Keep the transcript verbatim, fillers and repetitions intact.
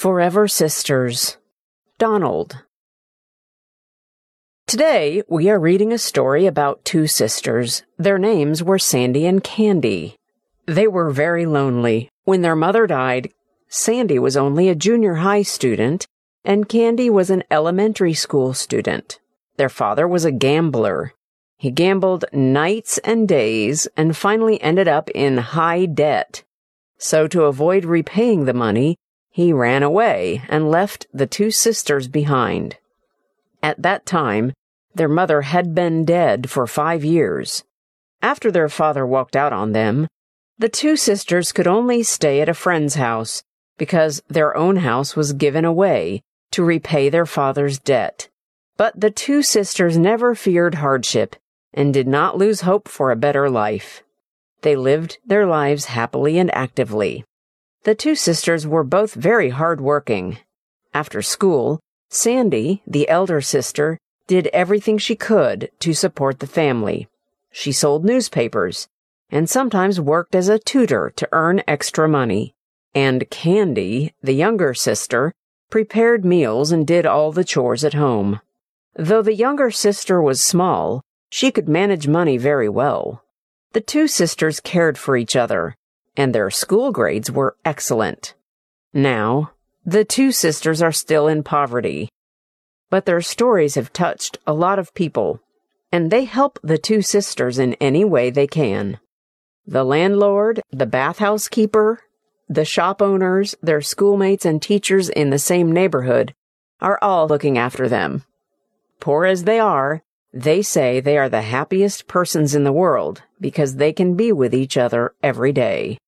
Forever Sisters. Donald. Today, we are reading a story about two sisters. Their names were Sandy and Candy. They were very lonely. When their mother died, Sandy was only a junior high student, and Candy was an elementary school student. Their father was a gambler. He gambled nights and days and finally ended up in high debt. So to avoid repaying the money, he ran away and left the two sisters behind. At that time, their mother had been dead for five years. After their father walked out on them, the two sisters could only stay at a friend's house because their own house was given away to repay their father's debt. But the two sisters never feared hardship and did not lose hope for a better life. They lived their lives happily and actively. The two sisters were both very hard-working. After school, Sandy, the elder sister, did everything she could to support the family. She sold newspapers and sometimes worked as a tutor to earn extra money. And Candy, the younger sister, prepared meals and did all the chores at home. Though the younger sister was small, she could manage money very well. The two sisters cared for each other, and their school grades were excellent. Now, the two sisters are still in poverty, but their stories have touched a lot of people, and they help the two sisters in any way they can. The landlord, the bathhouse keeper, the shop owners, their schoolmates and teachers in the same neighborhood are all looking after them. Poor as they are, they say they are the happiest persons in the world because they can be with each other every day.